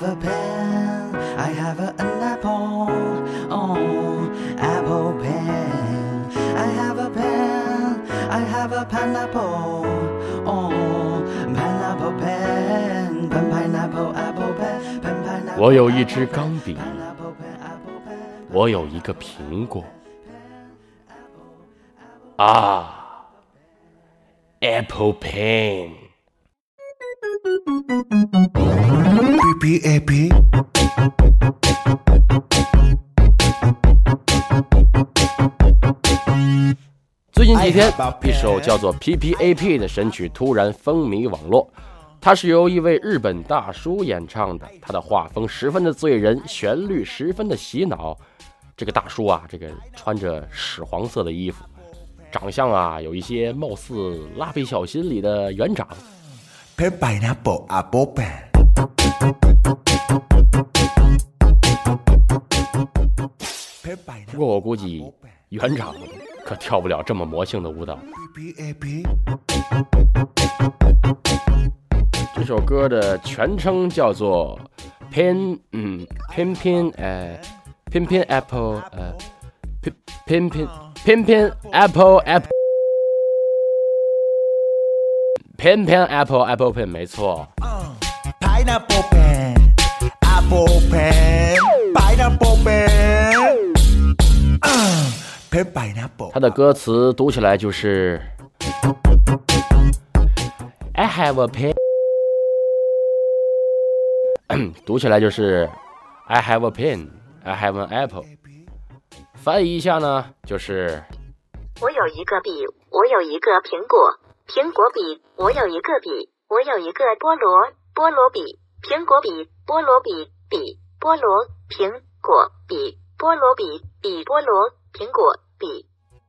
have a pen, I have an apple, oh, apple pen. I have a pen, I have a pineapple, oh, pineapple pen, pen pineapple apple pen, pen pineapple. 我有一支钢笔，我有一个苹果。啊 ，Apple pen。 PPAP。 最近几天，一首叫做 PPAP 的神曲突然风靡网络。它是由一位日本大叔演唱的，他的画风十分的醉人，旋律十分的洗脑。这个大叔啊，这个穿着屎黄色的衣服，长相啊有一些貌似蜡笔小新里的园长。不过我估计园长可跳不了这么魔性的舞蹈。这首歌的全称叫做偏偏 Apple Apple pen 没错。 Pineapple pen, apple pen, pineapple pen, pen pineapple。 它的歌词读起来就是 I have a pen， 读起来就是 I have a pen, I have an apple。翻译一下呢，就是我有一个笔，我有一个苹果，苹果笔，我有一个笔，我有一个菠萝，菠萝笔，苹果笔，菠萝笔，笔，菠萝，苹果笔，菠萝笔，笔，菠萝，苹果笔。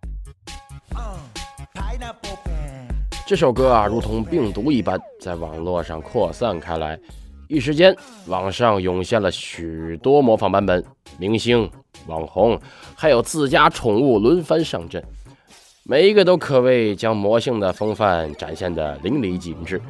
这首歌啊，如同病毒一般，在网络上扩散开来。一时间，网上涌现了许多模仿版本，明星、网红，还有自家宠物轮番上阵，每一个都可谓将魔性的风范展现得淋漓尽致。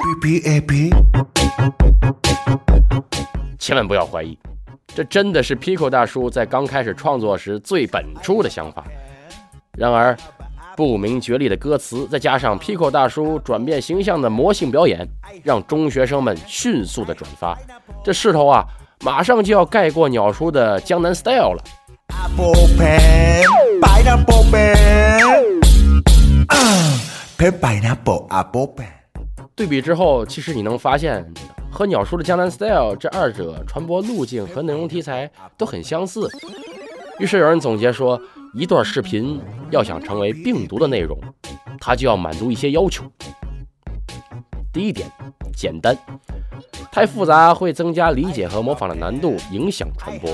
千万不要怀疑，这真的是 Pico 大叔在刚开始创作时最本初的想法。然而不明觉厉的歌词，再加上 Pico 大叔转变形象的魔性表演，让中学生们迅速的转发，这势头啊，马上就要盖过鸟叔的江南 Style 了。 Apple pen, pineapple pen, pen pineapple apple pen。 对比之后，其实你能发现，和鸟叔的江南 Style 这二者传播路径和内容题材都很相似。于是有人总结说，一段视频要想成为病毒的内容，它就要满足一些要求。第一点，简单，太复杂会增加理解和模仿的难度，影响传播。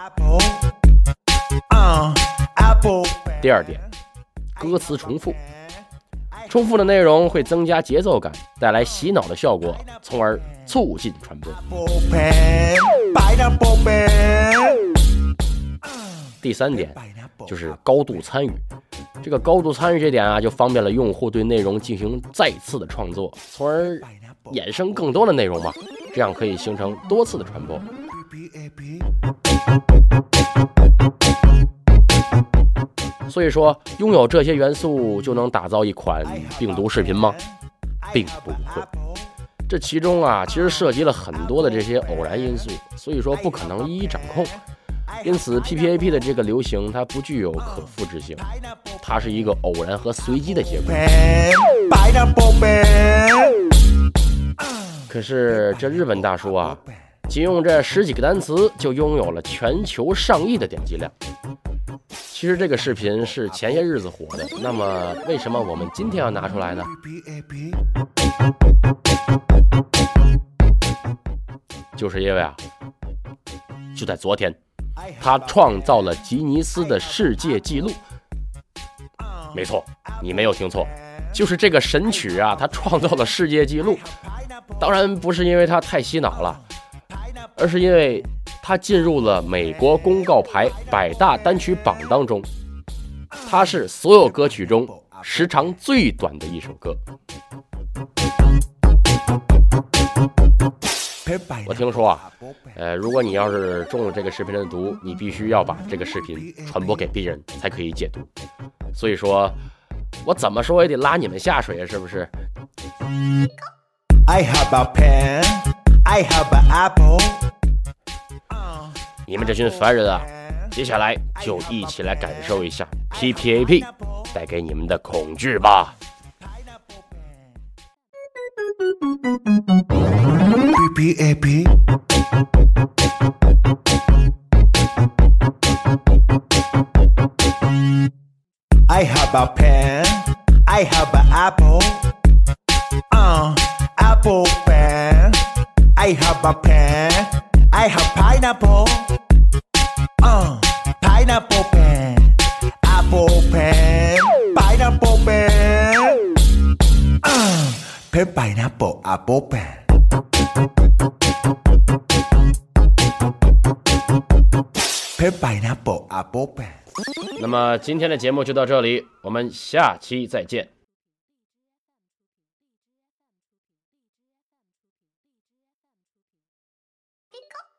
第二点，歌词重复，重复的内容会增加节奏感，带来洗脑的效果，从而促进传播。第三点就是高度参与，这个高度参与这点啊，就方便了用户对内容进行再次的创作，从而衍生更多的内容嘛，这样可以形成多次的传播。所以说，拥有这些元素就能打造一款病毒视频吗？并不会。这其中啊，其实涉及了很多的这些偶然因素，所以说不可能一一掌控。因此 PPAP 的这个流行它不具有可复制性，它是一个偶然和随机的结果。可是这日本大叔啊，仅用这10几个单词就拥有了全球上亿的点击量。其实这个视频是前些日子火的，那么为什么我们今天要拿出来呢？就是因为啊，就在昨天，他创造了吉尼斯的世界纪录。没错，你没有听错，就是这个神曲啊，他创造了世界纪录。当然不是因为他太洗脑了，而是因为他进入了美国公告牌100大单曲榜当中，它是所有歌曲中时长最短的一首歌。 我听说啊，如果你要是中了这个视频的毒，你必须要把这个视频传播给别人才可以解毒。所以说，我怎么说也得拉你们下水啊，是不是？ I have a pen, I have an apple. 你们这群凡人啊，接下来就一起来感受一下 PPAP 带给你们的恐惧吧。 PPAP. I have a pen, I have an apple. Apple pen. I have a pen, I have pineapple. Pineapple pen, apple pen, pineapple pen. Pen pineapple apple pen. Pen pineapple apple pen. 那么今天的节目就到这里，我们下期再见。 ピコ